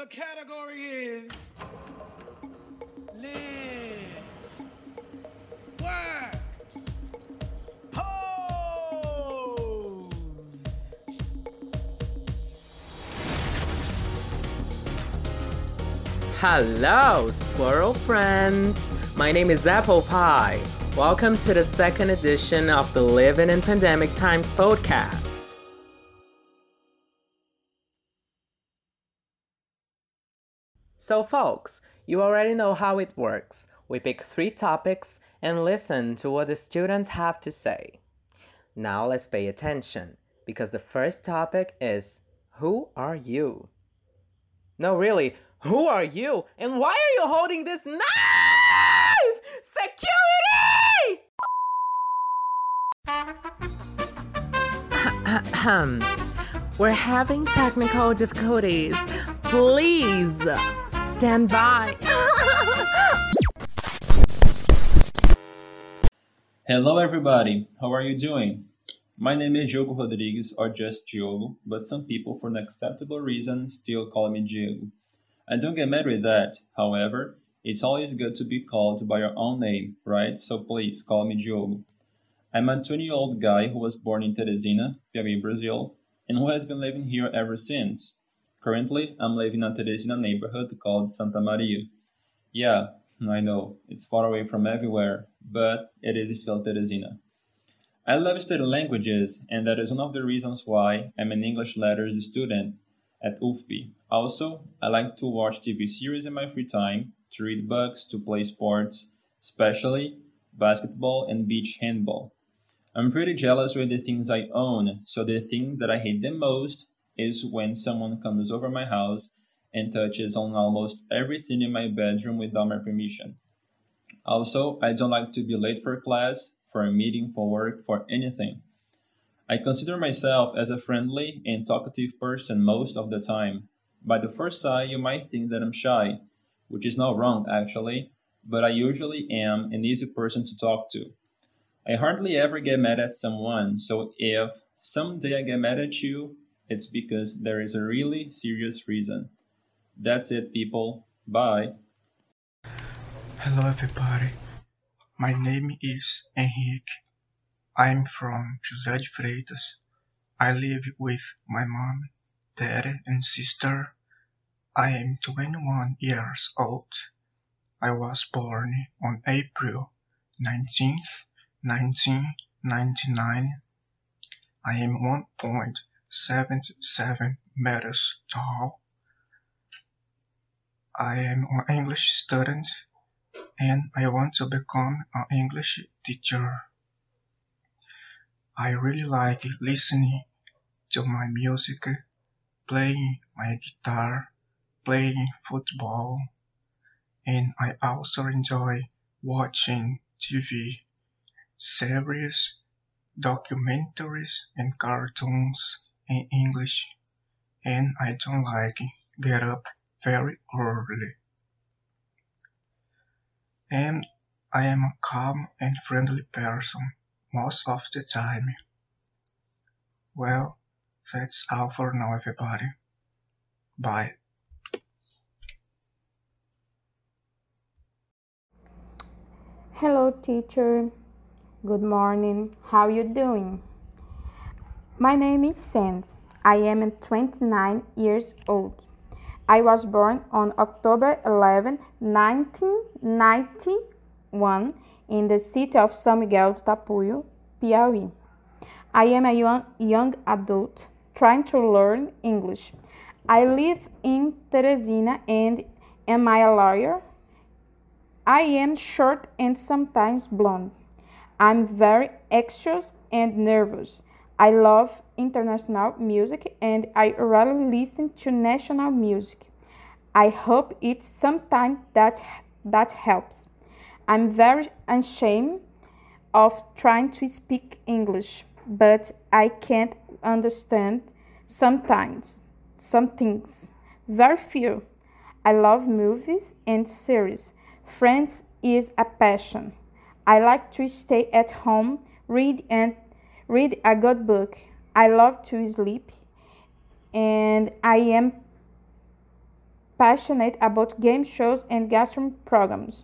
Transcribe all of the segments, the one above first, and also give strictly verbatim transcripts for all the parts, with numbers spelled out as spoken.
The category is live, work, pose. Hello, squirrel friends! My name is Apple Pie. Welcome to the second edition of the Living in Pandemic Times podcast. So folks, you already know how it works. We pick three topics and listen to what the students have to say. Now let's pay attention, because the first topic is, who are you? No, really, who are you? And why are you holding this knife? Security! We're having technical difficulties. Please stand by. Hello everybody, how are you doing? My name is Diogo Rodrigues, or just Diogo, but some people for an acceptable reason still call me Diego. I don't get mad with that, however, it's always good to be called by your own name, right? So please call me Diogo. I'm a twenty-year-old guy who was born in Teresina, Piauí, Brazil, and who has been living here ever since. Currently, I'm living in a Teresina neighborhood called Santa Maria. Yeah, I know, it's far away from everywhere, but it is still Teresina. I love studying languages, and that is one of the reasons why I'm an English letters student at U F P. Also, I like to watch T V series in my free time, to read books, to play sports, especially basketball and beach handball. I'm pretty jealous with the things I own, so the thing that I hate the most is when someone comes over my house and touches on almost everything in my bedroom without my permission. Also, I don't like to be late for class, for a meeting, for work, for anything. I consider myself as a friendly and talkative person most of the time. By the first sight, you might think that I'm shy, which is not wrong actually, but I usually am an easy person to talk to. I hardly ever get mad at someone, so if someday I get mad at you, it's because there is a really serious reason. That's it, people. Bye. Hello everybody, my name is Henrique. I'm from José de Freitas. I live with my mom, dad and sister. I am twenty-one years old. I was born on April nineteenth, nineteen ninety-nine. I am one point seven seven meters tall. I am an English student and I want to become an English teacher. I really like listening to my music, playing my guitar, playing football, and I also enjoy watching T V, series, documentaries, and cartoons in English, and I don't like get up very early. And I am a calm and friendly person most of the time. Well, that's all for now, everybody. Bye. Hello, teacher. Good morning. How you doing? My name is Sand. I am twenty-nine years old. I was born on October eleventh, nineteen ninety-one in the city of São Miguel do Tapuio, Piauí. I am a young, young adult trying to learn English. I live in Teresina and am I a lawyer? I am short and sometimes blonde. I'm very anxious and nervous. I love international music and I rarely listen to national music. I hope it's sometime that that helps. I'm very ashamed of trying to speak English, but I can't understand sometimes some things. Very few. I love movies and series. Friends is a passion. I like to stay at home, read and read a good book. I love to sleep and I am passionate about game shows and gastronomy programs.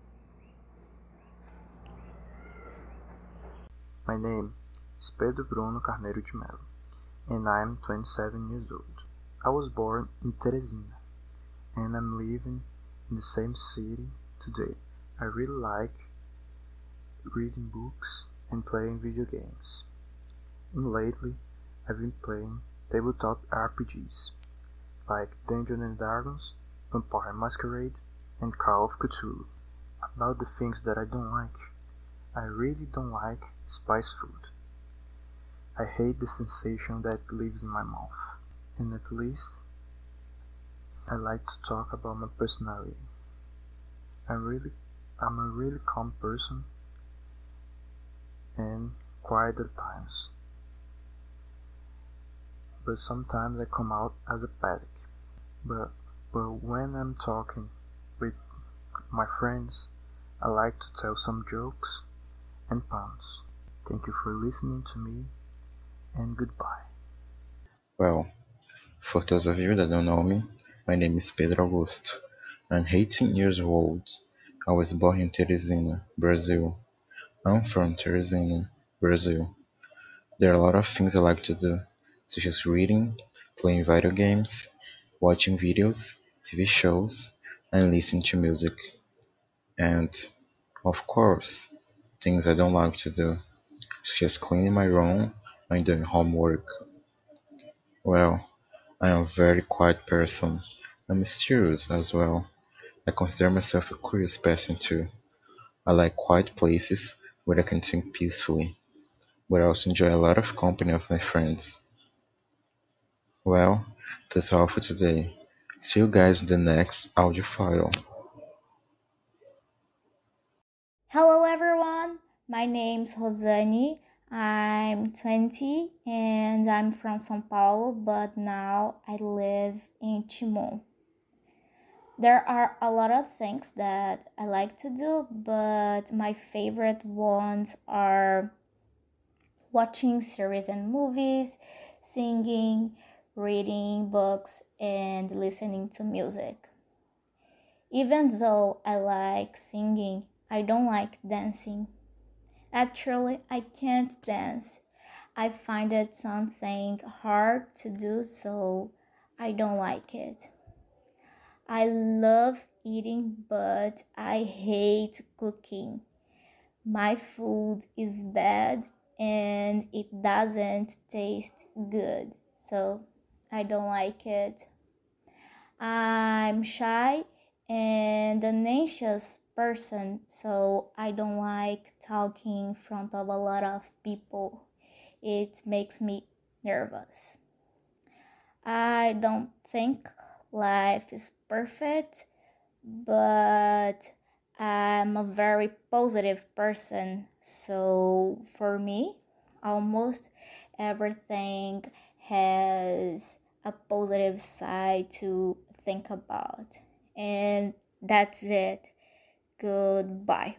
My name is Pedro Bruno Carneiro de Mello, and I am twenty-seven years old. I was born in Teresina, and I'm living in the same city today. I really like reading books and playing video games. And lately, I've been playing tabletop R P Gs, like Dungeons and Dragons, Vampire Masquerade, and Call of Cthulhu. About the things that I don't like, I really don't like spice food. I hate the sensation that it leaves in my mouth. And at least, I like to talk about my personality. I'm really, I'm a really calm person and quiet at times. But sometimes I come out as a panic. But, but when I'm talking with my friends, I like to tell some jokes and puns. Thank you for listening to me, and goodbye. Well, for those of you that don't know me, my name is Pedro Augusto. I'm eighteen years old. I was born in Teresina, Brazil. I'm from Teresina, Brazil. There are a lot of things I like to do, such as reading, playing video games, watching videos, T V shows, and listening to music. And, of course, things I don't like to do, such as cleaning my room and doing homework. Well, I am a very quiet person. I'm mysterious as well. I consider myself a curious person too. I like quiet places where I can think peacefully, but I also enjoy a lot of company of my friends. Well, that's all for today. See you guys in the next audio file. Hello everyone, my name's Rosane. I'm twenty and I'm from São Paulo, but now I live in Timon. There are a lot of things that I like to do, but my favorite ones are watching series and movies, singing, reading books, and listening to music. Even though I like singing, I don't like dancing. Actually, I can't dance. I find it something hard to do, so I don't like it. I love eating, but I hate cooking. My food is bad and it doesn't taste good, so I don't like it. I'm shy and an anxious person, so I don't like talking in front of a lot of people. It makes me nervous. I don't think life is perfect, but I'm a very positive person, so for me, almost everything has a positive side to think about. And that's it. Goodbye.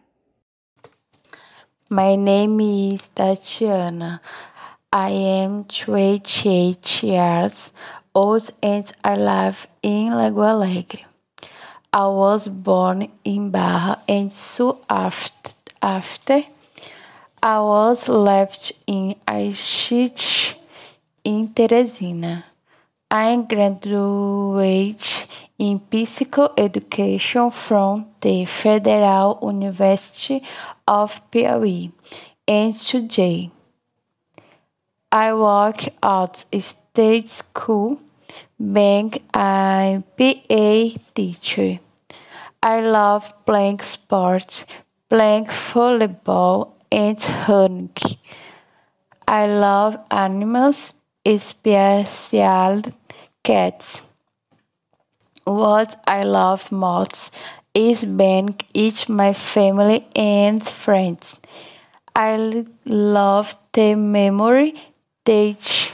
My name is Tatiana. I am twenty-eight years old and I live in Lagoa Alegre. I was born in Barra and soon after, after I was left in Aixite in Teresina. I graduated in physical education from the Federal University of Piauí, and today I work at a state school being a P A teacher. I love playing sports, playing volleyball and running. I love animals, especially cats. What I love most is being with my family and friends. I love the memory that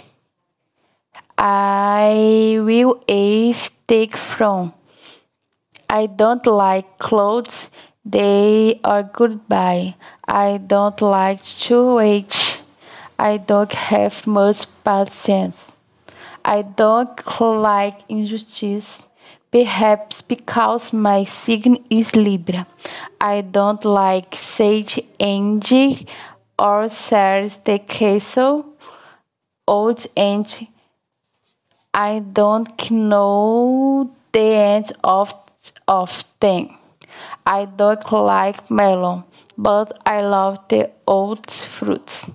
I will have take from. I don't like clothes, they are goodbye. I don't like to wait. I don't have much patience. I don't like injustice. Perhaps because my sign is Libra. I don't like Sage Angie or Sarah's the Castle, old and I don't know the end of of them. I don't like melon, but I love the old fruits.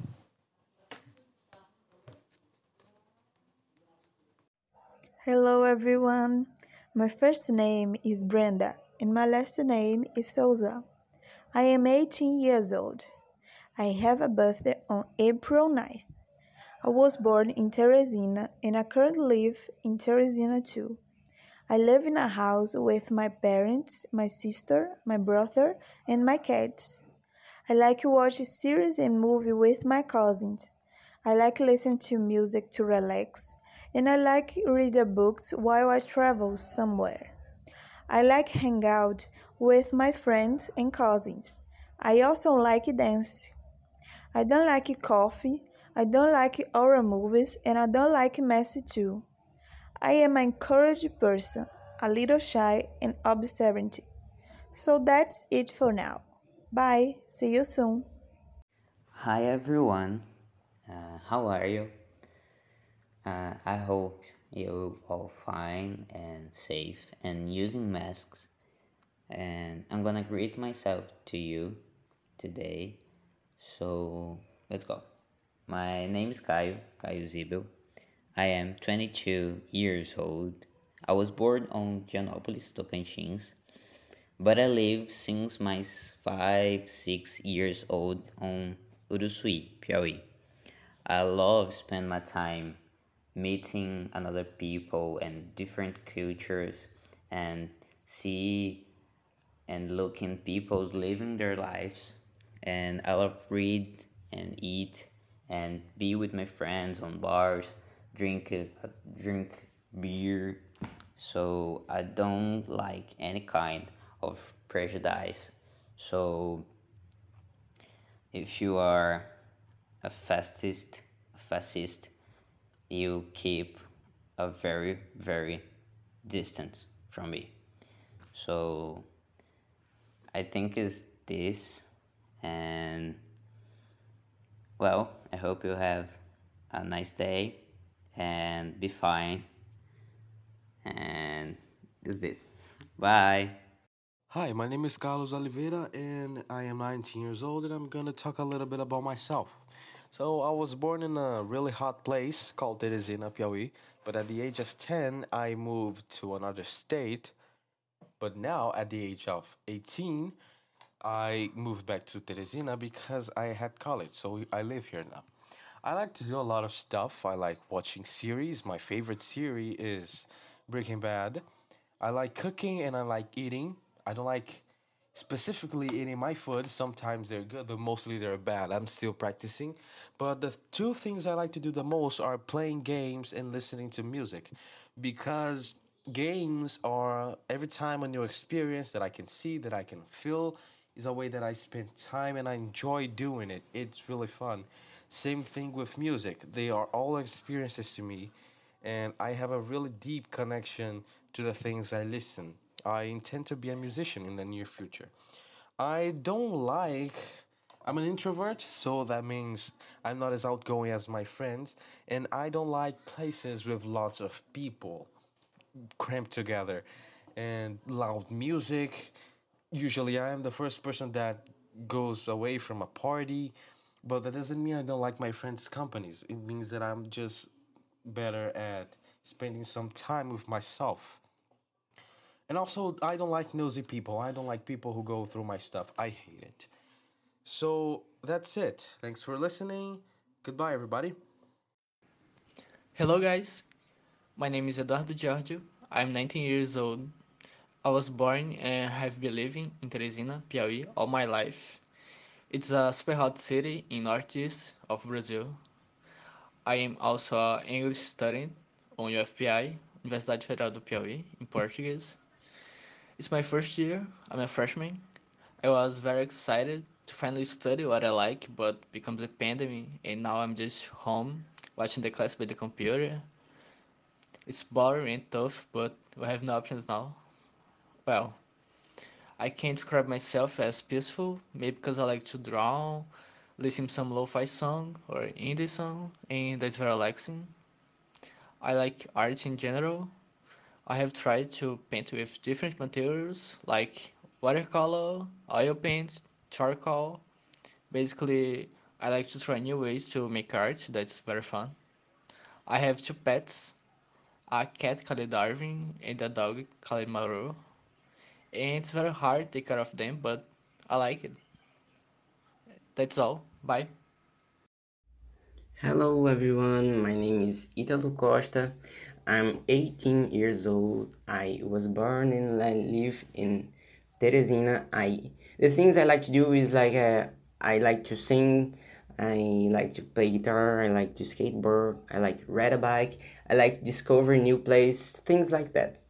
Hello everyone. My first name is Brenda and my last name is Souza. I am eighteen years old. I have a birthday on April ninth. I was born in Teresina and I currently live in Teresina too. I live in a house with my parents, my sister, my brother, and my cats. I like to watch series and movie with my cousins. I like listen to music to relax, and I like read books while I travel somewhere. I like hang out with my friends and cousins. I also like dance. I don't like coffee, I don't like horror movies, and I don't like messy too. I am an encouraged person, a little shy and observant. So that's it for now. Bye. See you soon. Hi everyone, uh, how are you? Uh, I hope you're all fine and safe and using masks. And I'm gonna greet myself to you today. So let's go. My name is Caio, Caio Zibel. I am twenty-two years old. I was born on Gianópolis, Tocantins, but I live since my five, six years old on Uruçuí, Piauí. I love spend my time meeting another people and different cultures and see and looking people living their lives. And I love read and eat and be with my friends on bars, drink uh, drink beer. So I don't like any kind of prejudice. So if you are a fascist, a fascist, you keep a very, very distance from me. So I think is this, and well, I hope you have a nice day and be fine. And is this. Bye. Hi, my name is Carlos Oliveira and I am nineteen years old and I'm gonna talk a little bit about myself. So, I was born in a really hot place called Teresina, Piauí, but at the age of ten, I moved to another state. But now, at the age of eighteen, I moved back to Teresina because I had college, so I live here now. I like to do a lot of stuff. I like watching series. My favorite series is Breaking Bad. I like cooking and I like eating. I don't like specifically eating my food. Sometimes they're good, but mostly they're bad. I'm still practicing. But the two things I like to do the most are playing games and listening to music because games are every time a new experience that I can see, that I can feel, is a way that I spend time and I enjoy doing it. It's really fun. Same thing with music. They are all experiences to me, and I have a really deep connection to the things I listen. I intend to be a musician in the near future. I don't like. I'm an introvert, so that means I'm not as outgoing as my friends, and I don't like places with lots of people cramped together and loud music. Usually, I am the first person that goes away from a party, but that doesn't mean I don't like my friends' companies. It means that I'm just better at spending some time with myself. And also, I don't like nosy people. I don't like people who go through my stuff. I hate it. So that's it. Thanks for listening. Goodbye, everybody. Hello, guys. My name is Eduardo Giorgio. I'm nineteen years old. I was born and have been living in Teresina, Piauí, all my life. It's a super hot city in northeast of Brazil. I am also an English student on U F P I, Universidade Federal do Piauí, in Portuguese. It's my first year. I'm a freshman. I was very excited to finally study what I like, but becomes the pandemic, and now I'm just home watching the class by the computer. It's boring and tough, but we have no options now. Well, I can't describe myself as peaceful, maybe because I like to draw, listen to some lo-fi song or indie song, and that's very relaxing. I like art in general. I have tried to paint with different materials like watercolor, oil paint, charcoal. Basically, I like to try new ways to make art, that's very fun. I have two pets, a cat called Darwin and a dog called Maru. And it's very hard to take care of them, but I like it. That's all. Bye. Hello everyone, my name is Italo Costa. I'm eighteen years old. I was born and I live in Teresina. I the things I like to do is like uh, I like to sing, I like to play guitar, I like to skateboard, I like to ride a bike, I like to discover new place, things like that.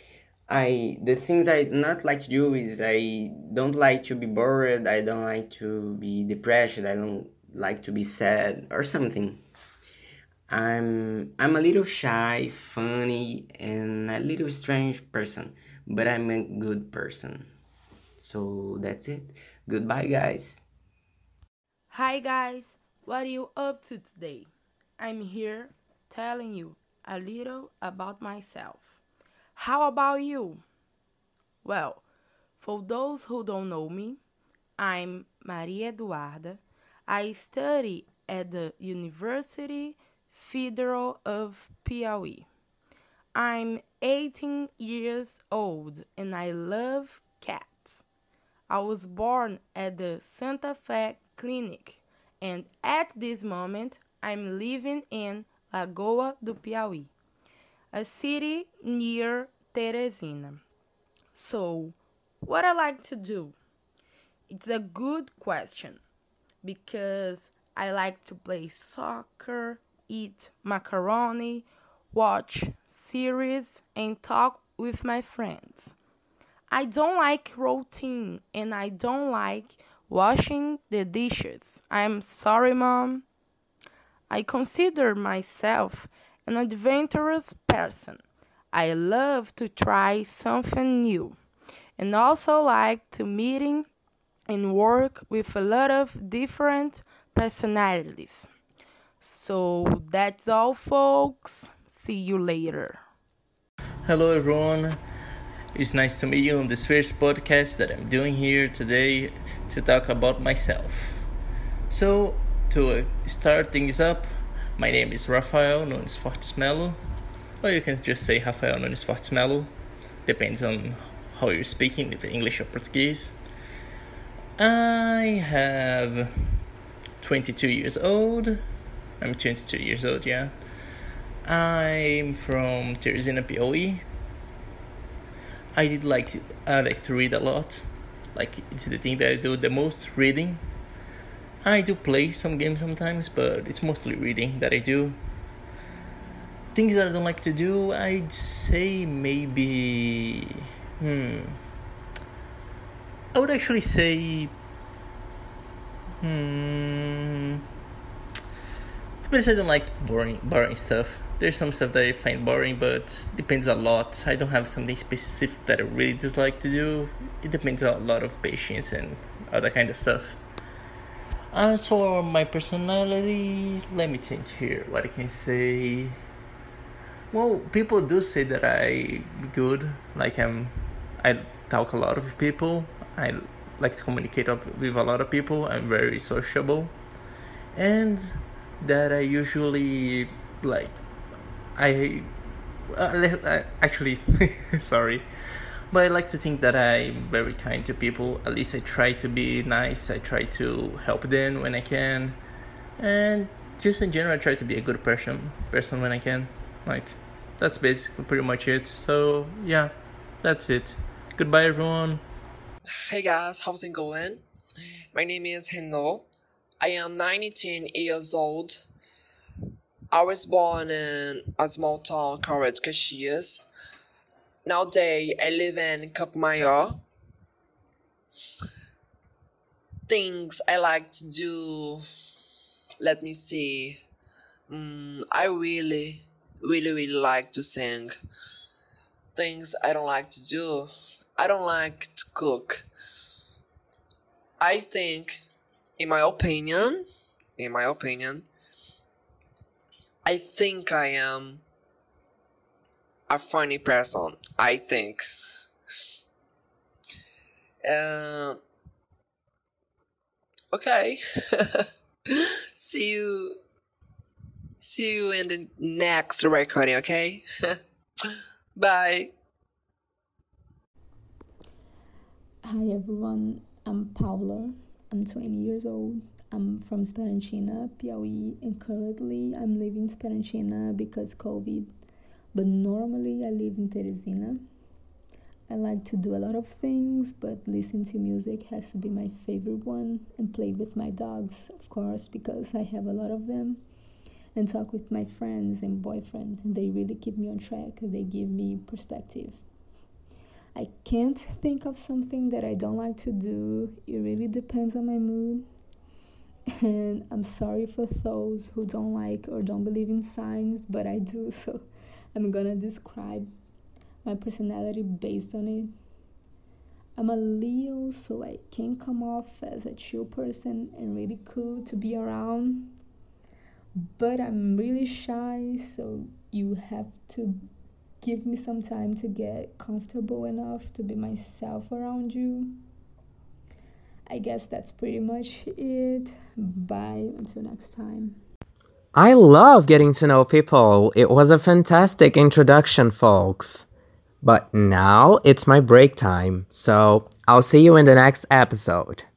I the things I not like to do is I don't like to be bored, I don't like to be depressed, I don't like to be sad or something. I'm I'm a little shy, funny, and a little strange person, but I'm a good person. So that's it. Goodbye, guys. Hi guys, what are you up to today? I'm here telling you a little about myself. How about you? Well, for those who don't know me, I'm Maria Eduarda. I study at the University Federal of Piauí. I'm eighteen years old and I love cats. I was born at the Santa Fe Clinic and at this moment I'm living in Lagoa do Piauí, a city near Teresina. So, what I like to do? It's a good question because I like to play soccer, eat macaroni, watch series, and talk with my friends. I don't like routine and I don't like washing the dishes. I'm sorry, mom. I consider myself an adventurous person. I love to try something new and also like to meeting and work with a lot of different personalities. So that's all, folks. See you later. Hello, everyone. It's nice to meet you on this first podcast that I'm doing here today to talk about myself. So, to uh, start things up, my name is Rafael Nunes Fortes Melo, or you can just say Rafael Nunes Fortes Melo, depends on how you're speaking, if English or Portuguese. I have twenty-two years old. I'm twenty-two years old, yeah. I'm from Teresina, Piauí. I did like to, I like to read a lot. Like, it's the thing that I do the most, reading. I do play some games sometimes, but it's mostly reading that I do. Things that I don't like to do, I'd say maybe... Hmm... I would actually say... Hmm... Because I don't like boring, boring stuff. There's some stuff that I find boring, but depends a lot. I don't have something specific that I really dislike to do. It depends on a lot of patience and other kind of stuff. As for my personality, let me think here what I can say. Well, people do say that I'm good. Like I'm, I talk a lot with people. I like to communicate with a lot of people. I'm very sociable, and that I usually like. I, uh, actually, sorry, but I like to think that I'm very kind to people. At least I try to be nice. I try to help them when I can, and just in general, I try to be a good person, person when I can. Like, that's basically pretty much it. So yeah, that's it. Goodbye, everyone. Hey guys, how's it going? My name is Renault. I am nineteen years old. I was born in a small town called Caxias. Nowadays, I live in Campo Maior. Things I like to do, let me see. Mm, I really really, really like to sing. Things I don't like to do. I don't like to cook. I think, in my opinion, in my opinion, I think I am a funny person. I think. Uh, okay. see you. See you in the next recording. Okay. Bye. Hi everyone, I'm Paula. I'm twenty years old. I'm from Esperantina, Piauí, and currently I'm living in Esperantina because COVID. But normally I live in Teresina. I like to do a lot of things, but listening to music has to be my favorite one, and play with my dogs, of course, because I have a lot of them, and talk with my friends and boyfriend. They really keep me on track. They give me perspective. I can't think of something that I don't like to do. It really depends on my mood. And I'm sorry for those who don't like or don't believe in signs, but I do, so I'm gonna describe my personality based on it. I'm a Leo, so I can come off as a chill person and really cool to be around. But I'm really shy, so you have to give me some time to get comfortable enough to be myself around you. I guess that's pretty much it. Bye, until next time. I love getting to know people. It was a fantastic introduction, folks. But now it's my break time, so I'll see you in the next episode.